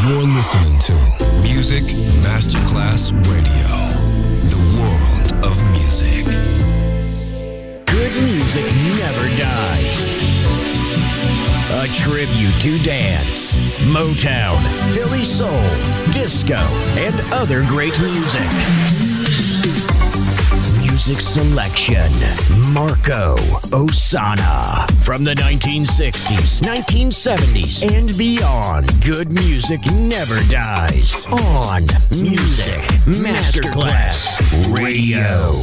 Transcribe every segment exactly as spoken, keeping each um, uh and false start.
You're listening to Music Masterclass Radio, the world of music. Good music never dies. A tribute to dance, Motown, Philly soul, disco, and other great music. Music selection, Marco Ossanna. From the nineteen sixties, nineteen seventies, and beyond, good music never dies. On Music Masterclass Radio.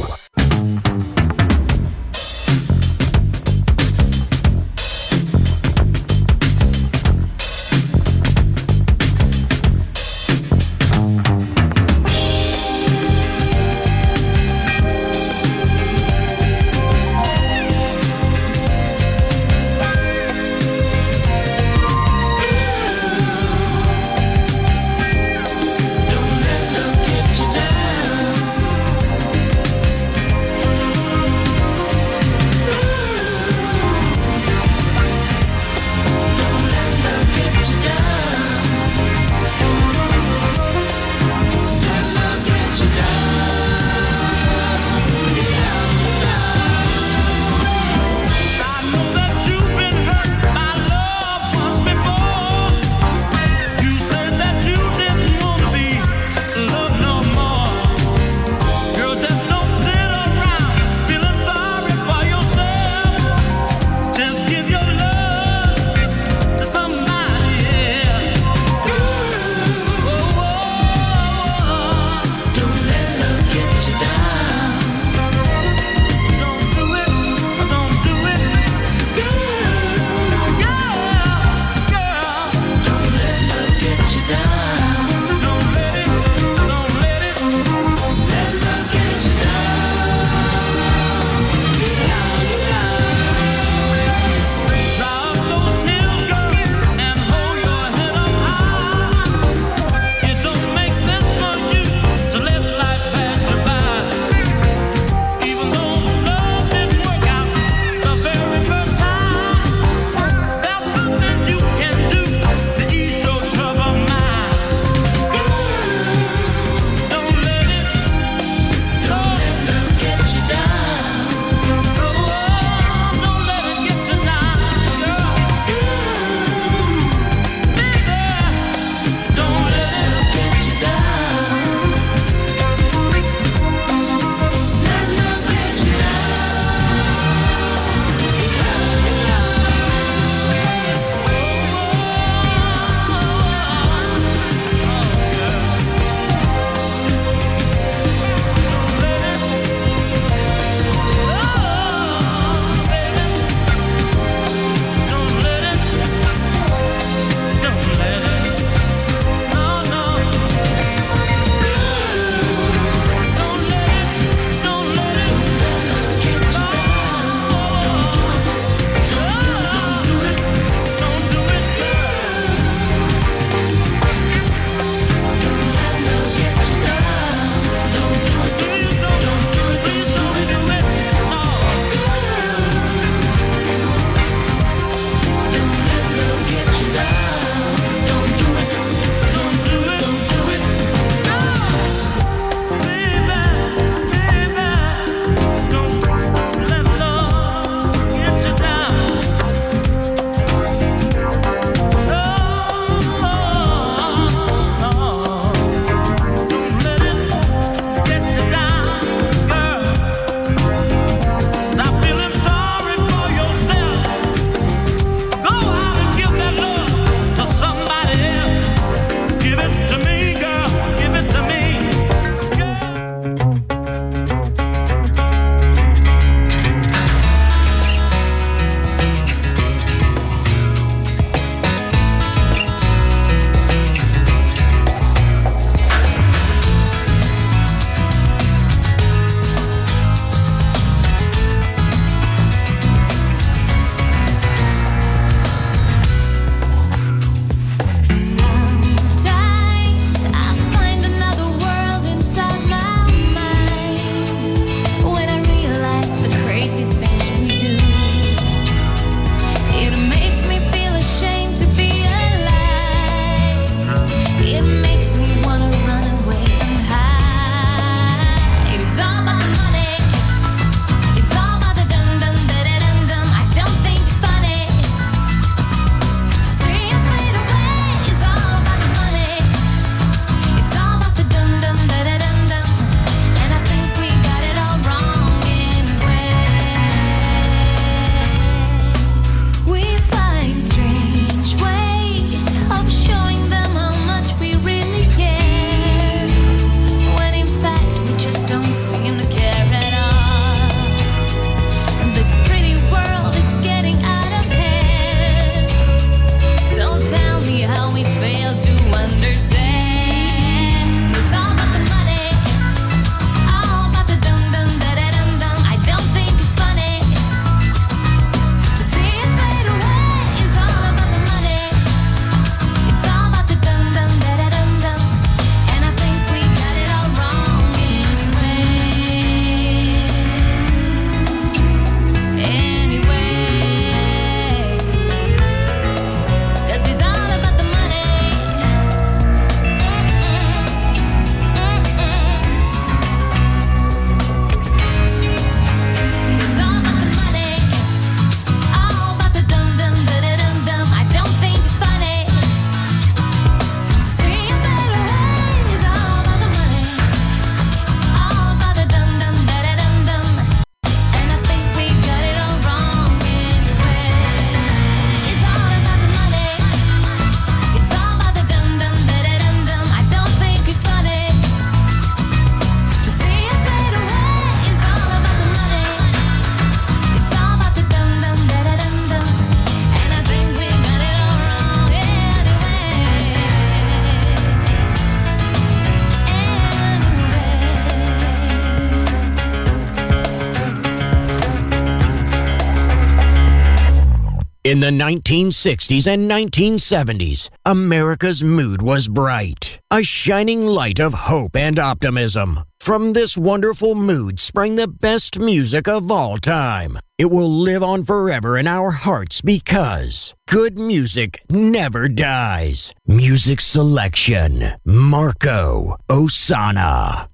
In the nineteen sixties and nineteen seventies, America's mood was bright, a shining light of hope and optimism. From this wonderful mood sprang the best music of all time. It will live on forever in our hearts because good music never dies. Music selection, Marco Ossanna.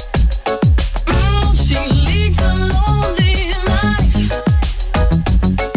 She leads a lonely life.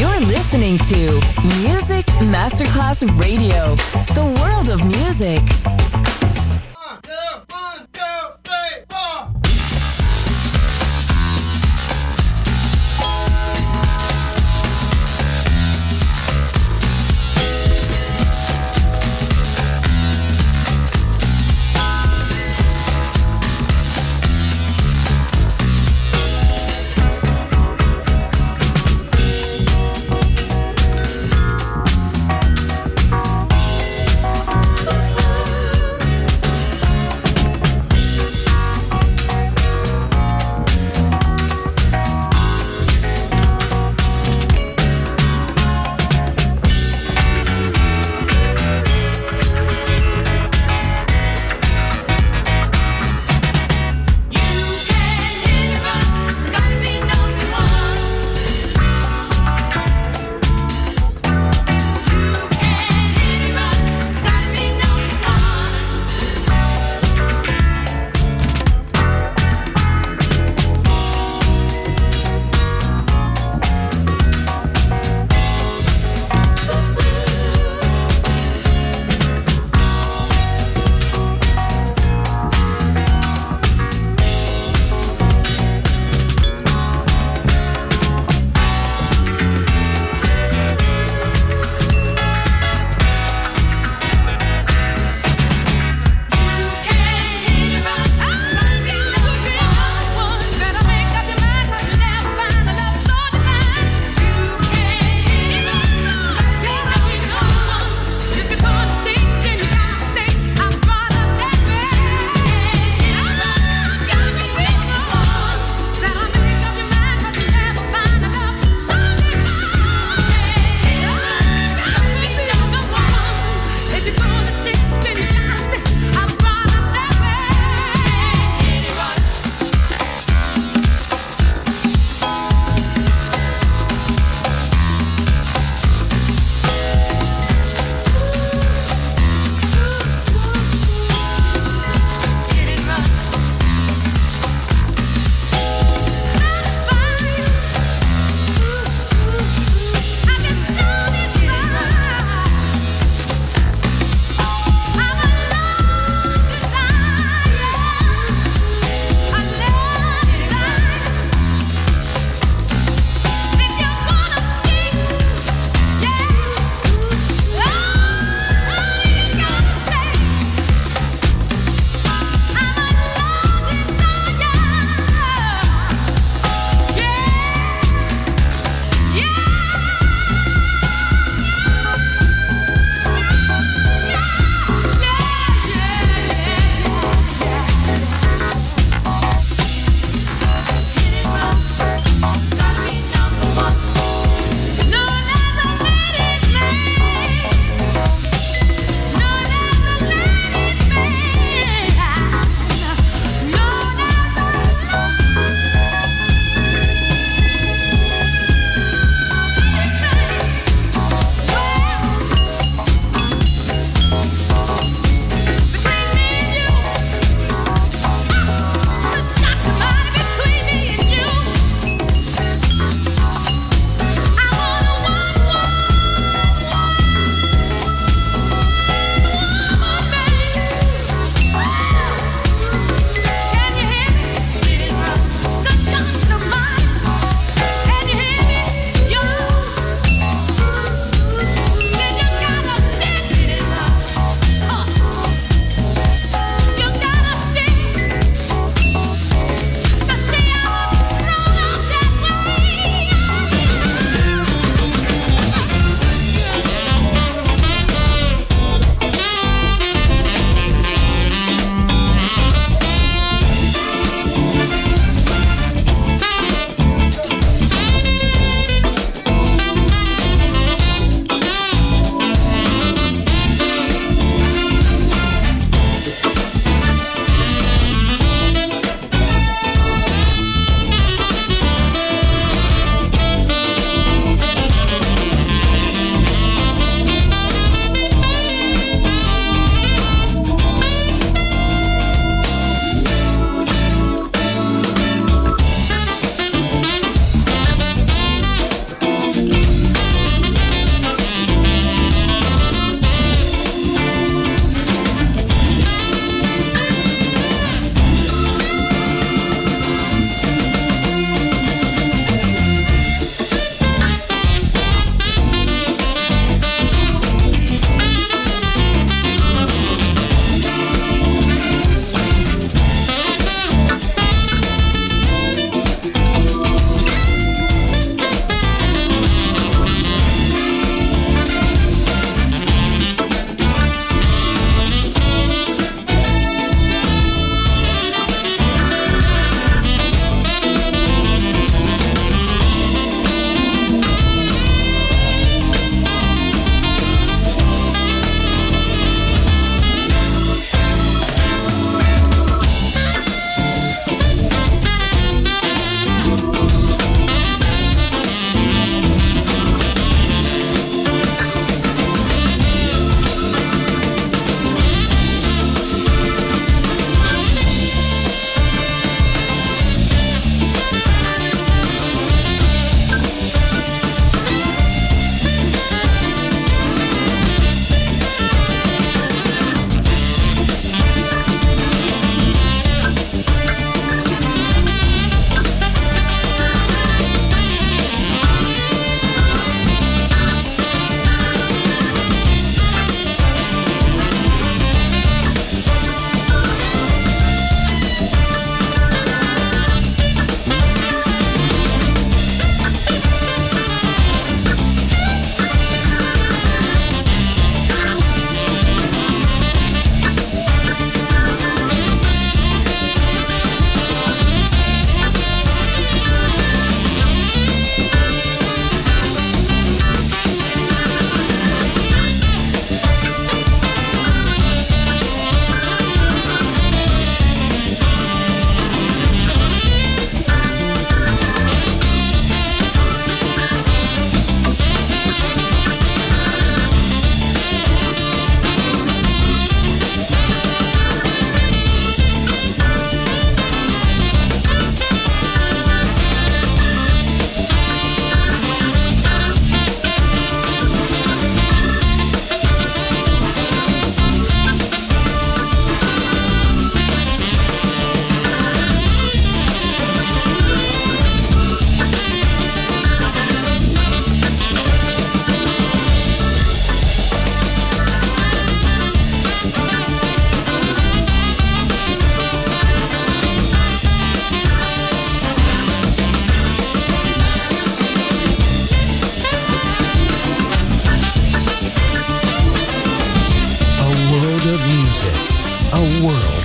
You're listening to Music Masterclass Radio, the world of music. One, two, one, two, three, four.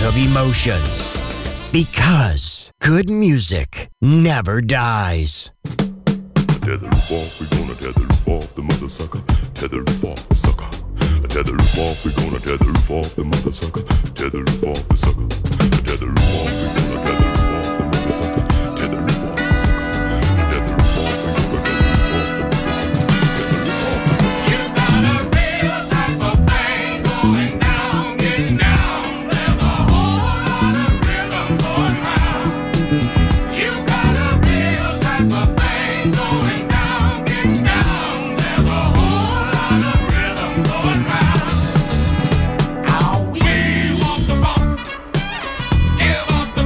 of emotions. Because good music never dies. Tether roof off, we gonna tether roof off the mother sucker. Tether roof off the sucker. Tether roof off, we gonna tether roof off the mother sucker. Tether roof off the sucker. Tether roof off, we gonna tether roof off the mother sucker. Tether roof off the sucker. Tether roof off, we gonna tether roof off the mother sucker. Tether roof off the sucker. You got a real type of thing going down, getting down. There's a whole lot of rhythm going round. You got a real type of thing going down, getting down. There's a whole lot of rhythm going round. Now we want the rock, give up the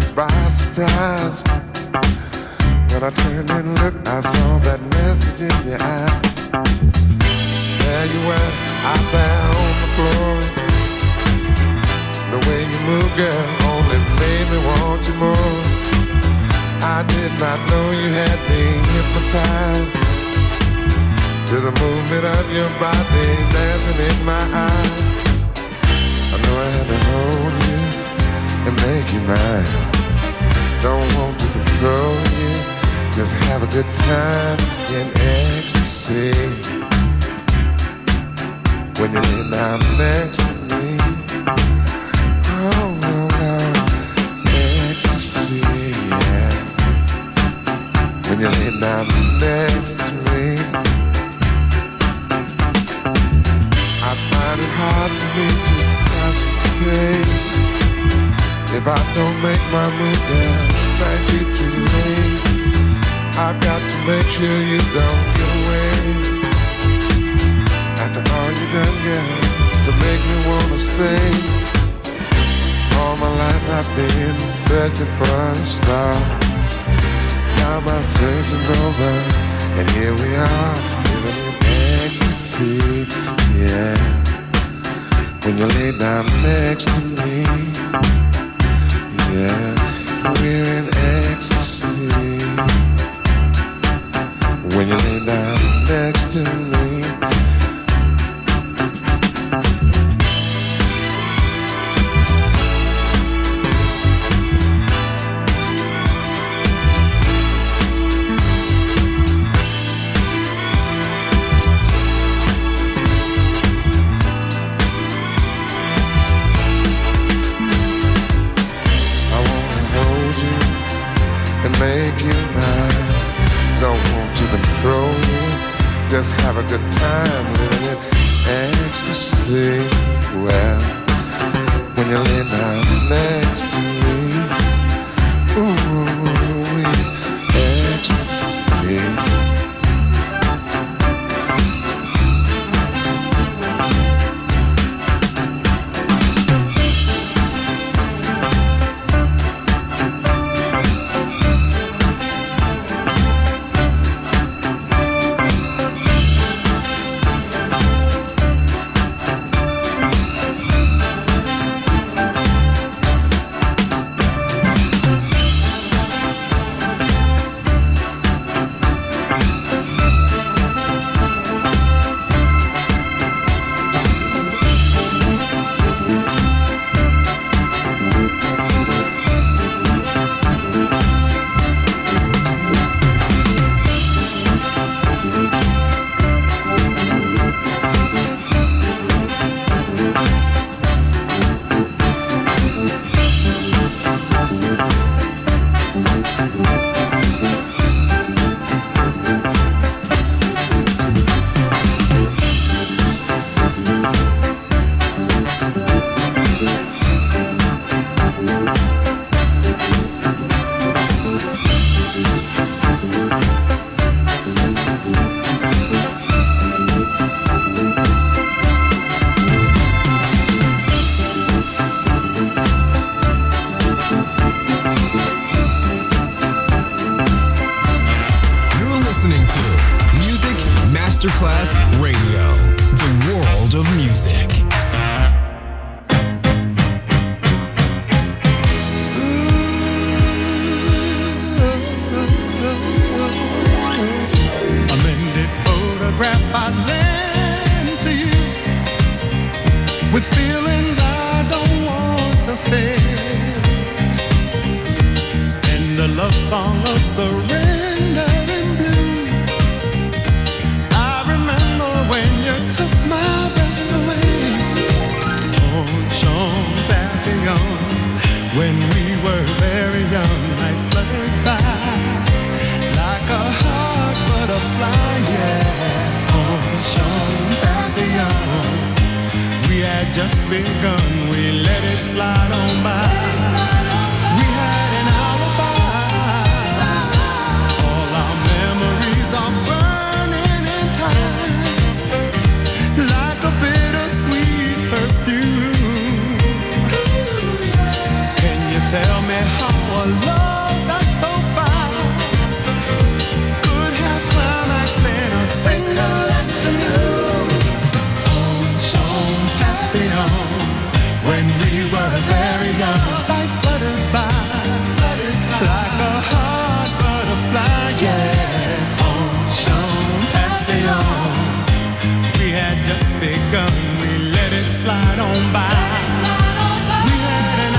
it by surprise. When I turned and looked, I saw that message in your eye. There you were, out there on the floor. The way you move, girl, only made me want you more. I did not know you had me hypnotized to the movement of your body dancing in my eyes. I know I had to hold you and make you mine. Don't want to control you, just have a good time in ecstasy. When you lay down next to me, oh, oh, oh, ecstasy, yeah. When you lay down next to me, I find it hard for me to concentrate. If I don't make my move down, it might be too late. I've got to make sure you don't get away. After all you done, girl, to make me wanna stay. All my life I've been searching for a star. Now my searching's over, and here we are, living in ecstasy, yeah. When you lay down next to me, yeah, we're in ecstasy. When you lay down next to me, make you mine. Don't want to control you, just have a good time living in ecstasy. Well, when you lay down next to me, ooh, ecstasy. Masterclass Radio, the world of music. A mended photograph I'd lend to you, with feelings I don't want to fade, and a love song of surrender in blue. Took my breath away. Oh, Jean Papillon, when we were very young, I fluttered by like a hot butterfly, yeah. Oh, Jean Papillon, we had just begun, we let it slide on by. We had an alibi, all our memories are burning in time, like a bittersweet perfume. Can you tell me how our love that's so fine could have climaxed in a single afternoon. Oh, Sean, happy on when we were very young. Life fluttered by, fluttered by like a hot butterfly, yeah. Oh, Sean, happy on. We had just begun, we let it slide on by. We had an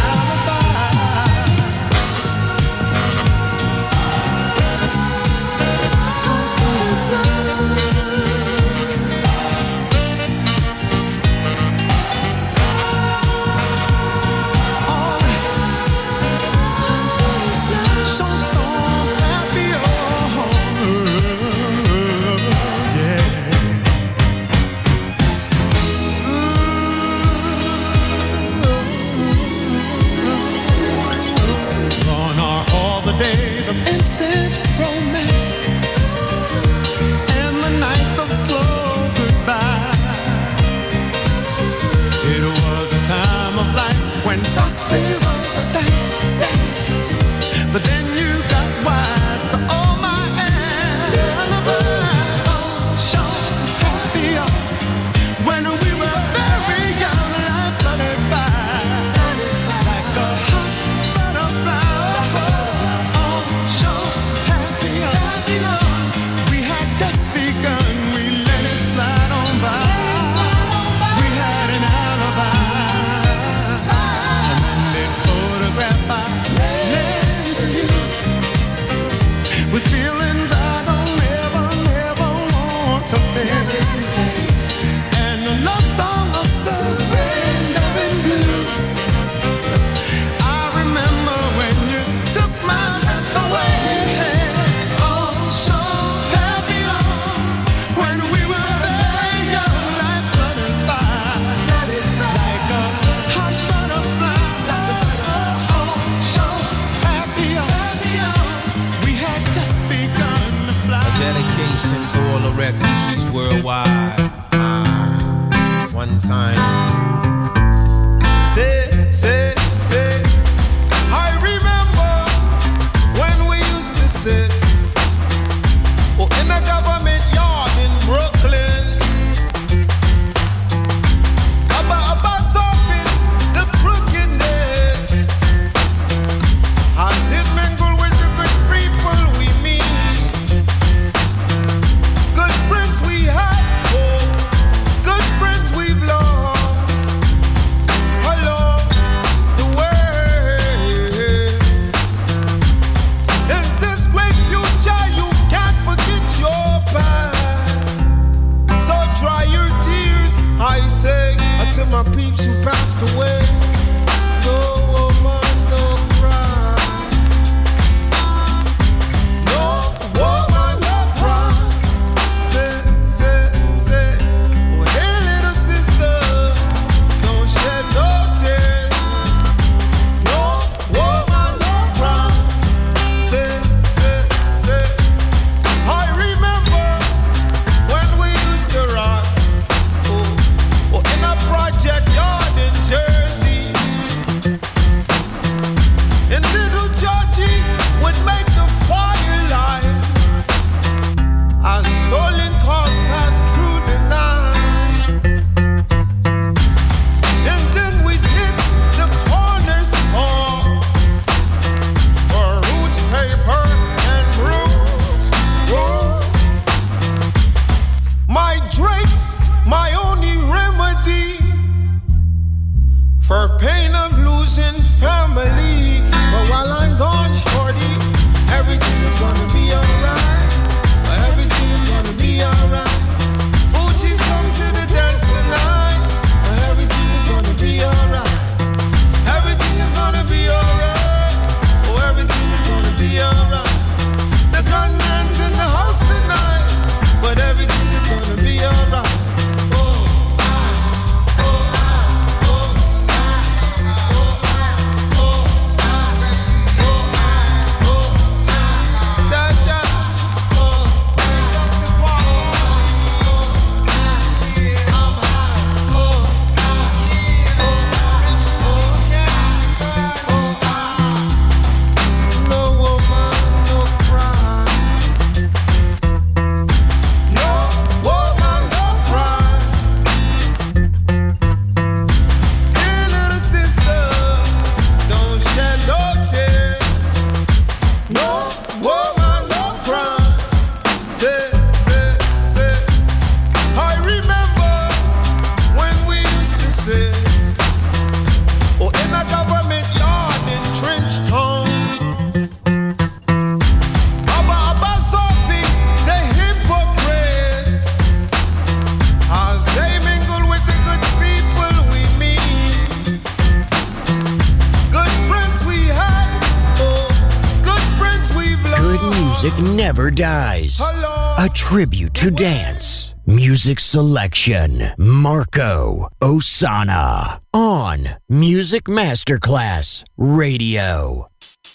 instant romance and the nights of slow goodbyes. It was a time of life when Foxy was a dance, but then you got wise to all my alibis. Oh, Sean, happy on when we were very young. Life fluttered by like a hot butterfly. Just begun, we let it slide on by. We had an alibi. A landed photograph I lent to you with feelings I don't ever, never want to feel. And a love song of surrender in blue. I remember when you took my breath away. To all the refugees worldwide. Uh, one time. Say, say, say. I remember when we used to sit oh, in a government yard in Brooklyn. About, about solving the crookedness. As it mingled with the good people we meet. We had, oh, good friends we've lost along the way. In this great future, you can't forget your past. So dry your tears, I say, until my peeps who passed away. No woman, no cry. No woman, no cry. Say, say, say, oh hey little sister, don't shed no tears. No woman, no cry. Say, say, say, I remember when we used to rock, oh, oh in a project yard in Jersey. And little Georgie would make the fire light. As stolen cars passed through the night. And then we'd hit the corner store for roots, paper, and brew. Whoa. My drinks, my only remedy for pain of losing family. But while I'm gone, music never dies. A tribute to dance. Music selection, Marco Ossanna. On Music Masterclass Radio.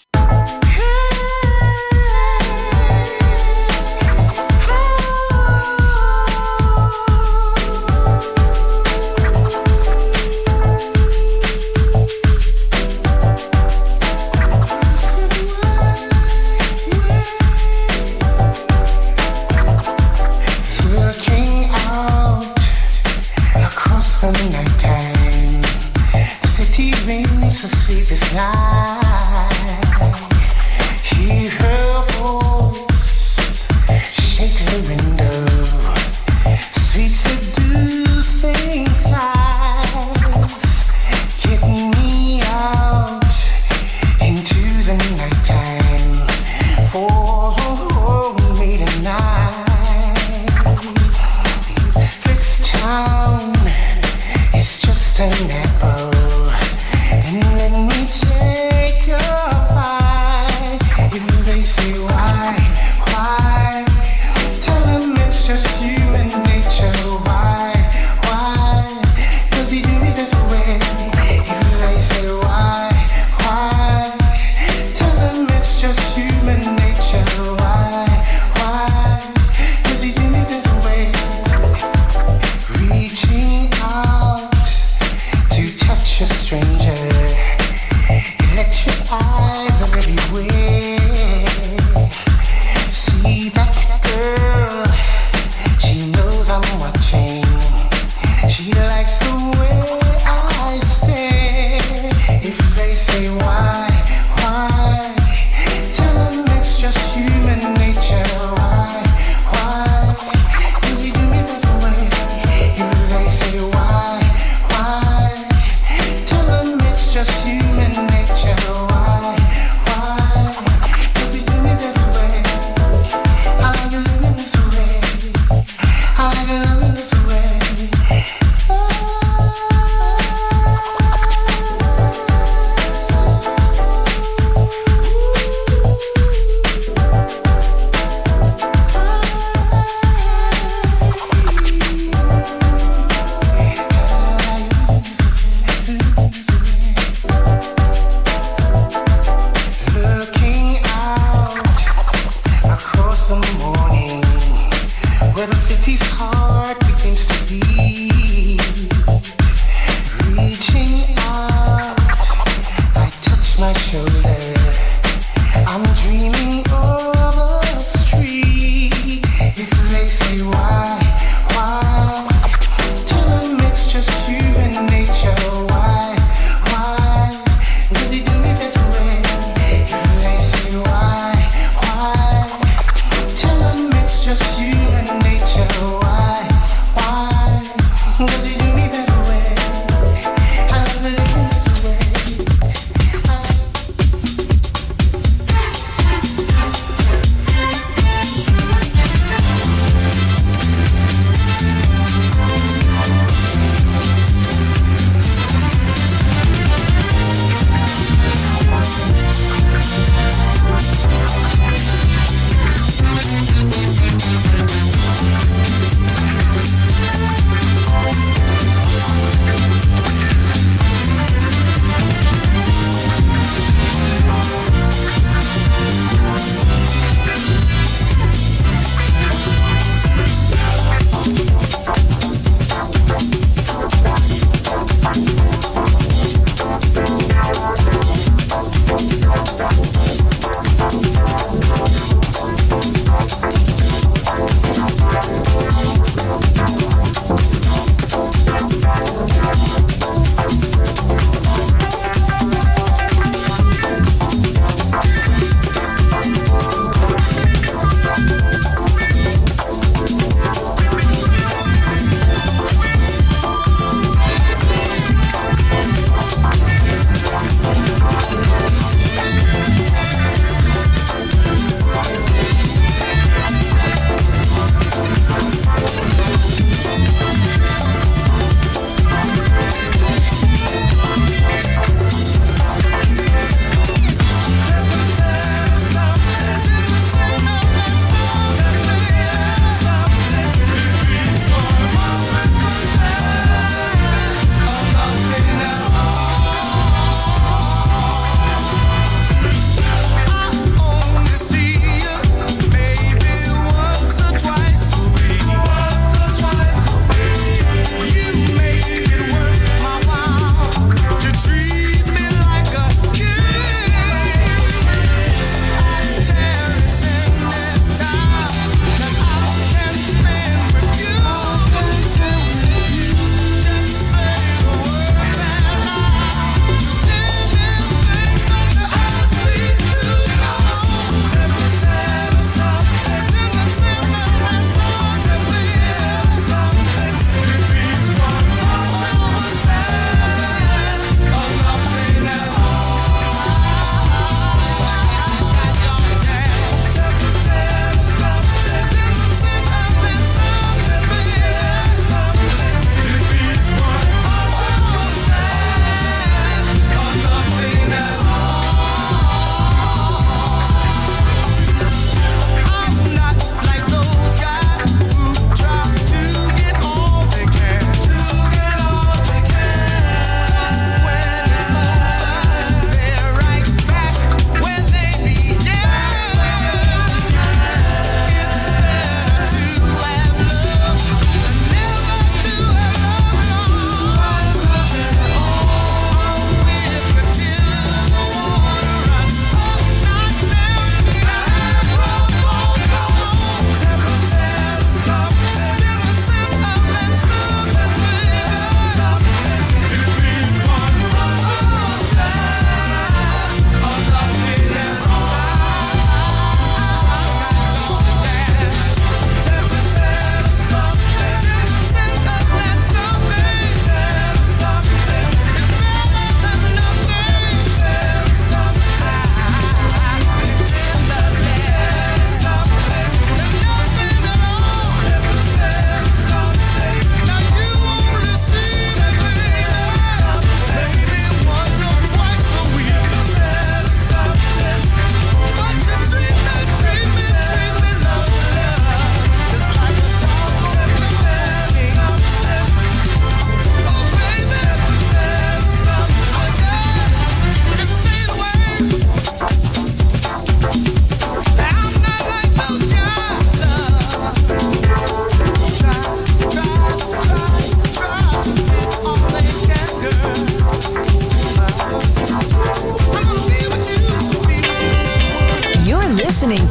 The nighttime, the city rings the sleepless night. Hear her voice, shakes the window, sweet seducing sighs, get me out into the nighttime for me tonight. This town, it's just an apple, and let me take a bite. If they say why, why, tell them it's just human nature. Why, why, does he do me this way? If they say why, why, tell them it's just human nature. Why, why, does he do me this way? Reaching out to touch a stranger, electric eyes are everywhere. See that girl, she knows I'm watching. She likes the way I stare. If they say why, why, tell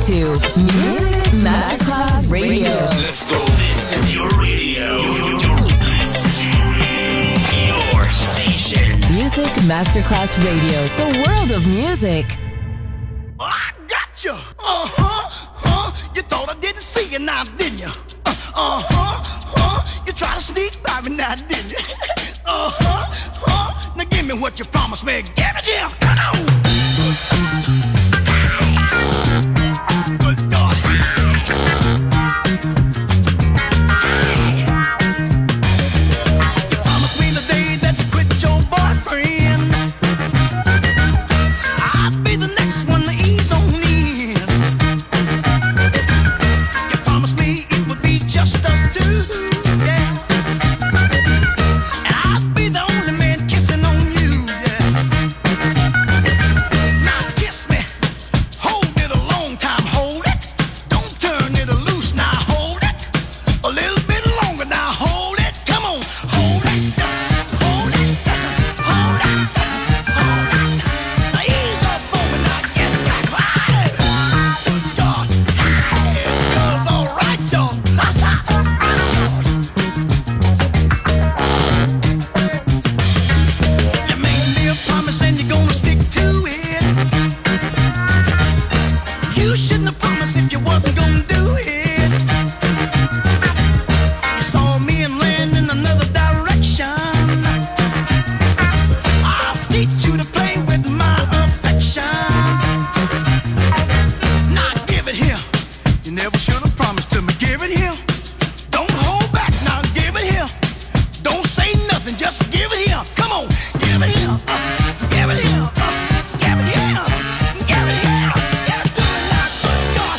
to Music Masterclass Radio. Let's go. This is your radio. Your station. Music Masterclass Radio. The world of music. I got you. Uh-huh. Uh, you thought I didn't see you now, didn't you? Uh, uh-huh. Uh, you tried to sneak by me now, didn't you? uh-huh. Uh, now give me what you promised me. Give it here. Come on. Good God. You promised me the day that you quit your boyfriend, I'd be the next one to ease on in. You promised me it would be just us two, yeah. And I'd be the only man kissing on you, yeah. Now kiss me, hold it a long time, hold it. Don't turn it loose, now hold it. A little bit longer, now hold it. Come on, hold it, hold it, hold it, hold it. Now ease up on me, now get back right. God, hey, it goes all right, y'all. You made me a promise and you're gonna stick to it. You shouldn't have promised if you wasn't gonna do it. You saw me and land in another direction. I'll teach you to play with my affection. Now give it here. You never should have promised to me. Give it here. Don't hold back. Now give it here. Don't say nothing. Just give it here. Come on. Give it here. Uh, give it here. Uh, give it here. Give it here. Give it to me now. Good God.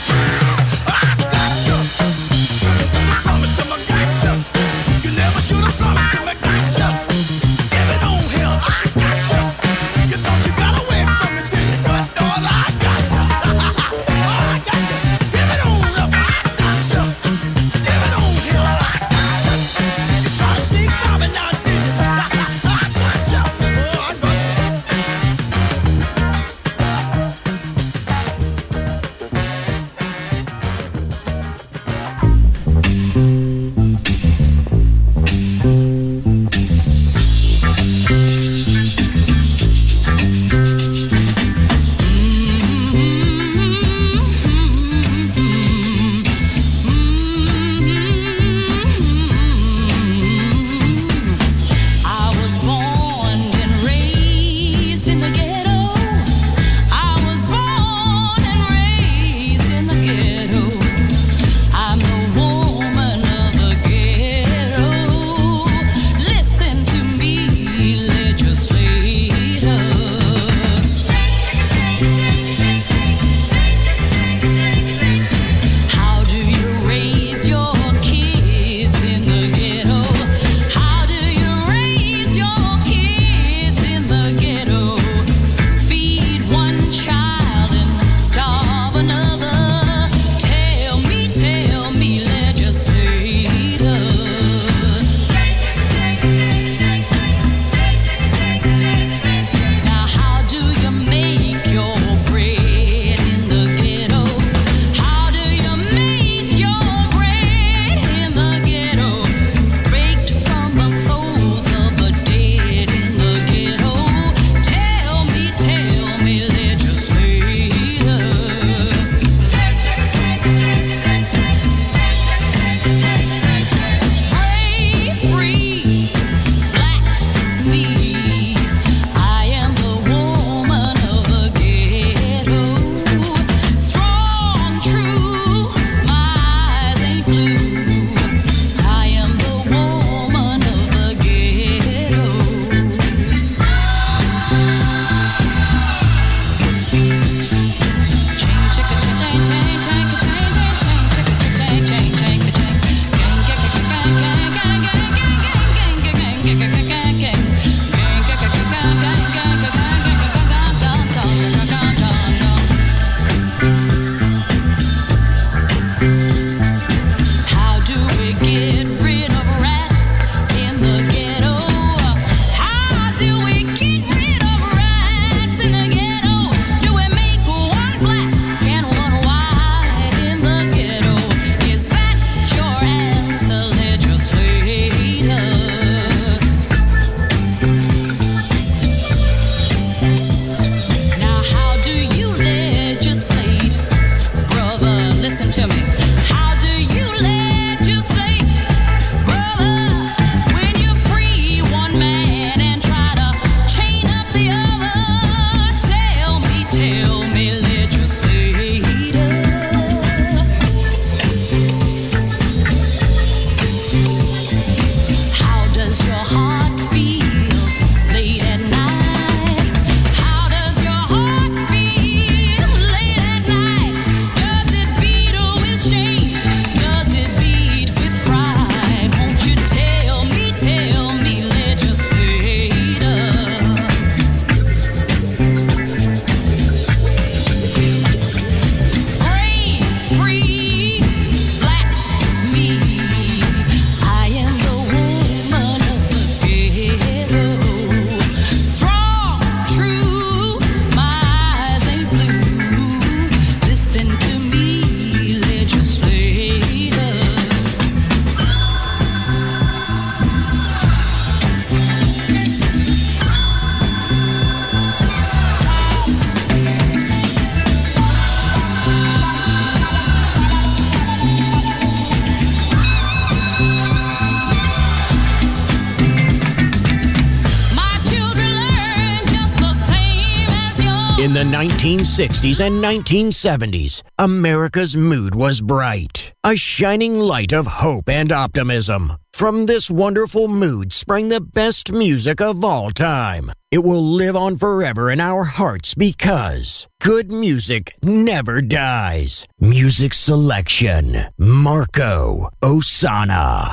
In the nineteen sixties and nineteen seventies, America's mood was bright, a shining light of hope and optimism. From this wonderful mood sprang the best music of all time. It will live on forever in our hearts because good music never dies. Music selection, Marco Ossanna.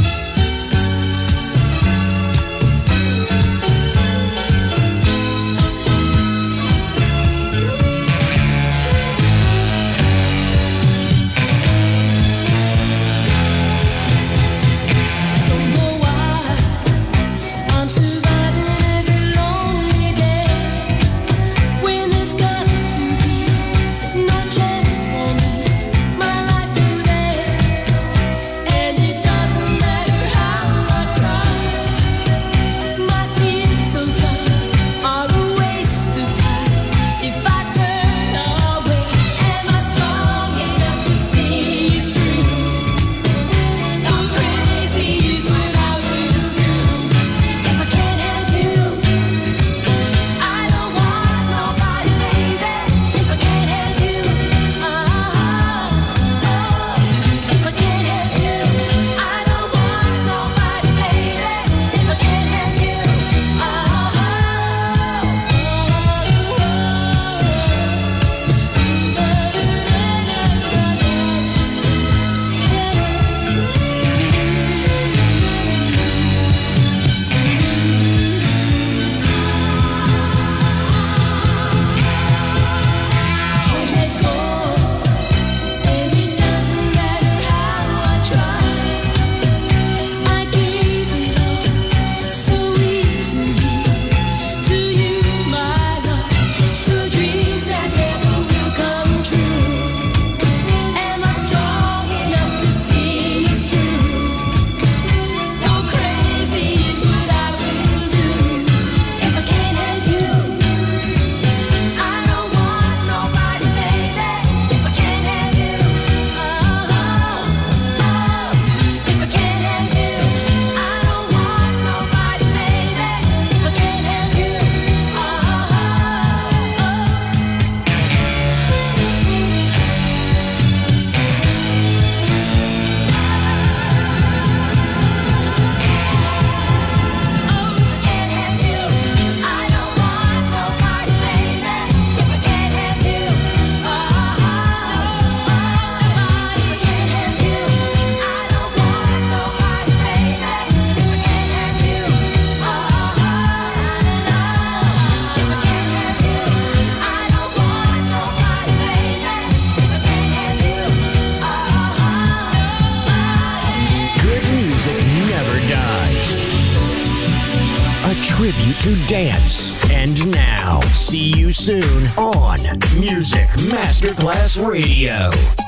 To dance. And now, see you soon on Music Masterclass Radio.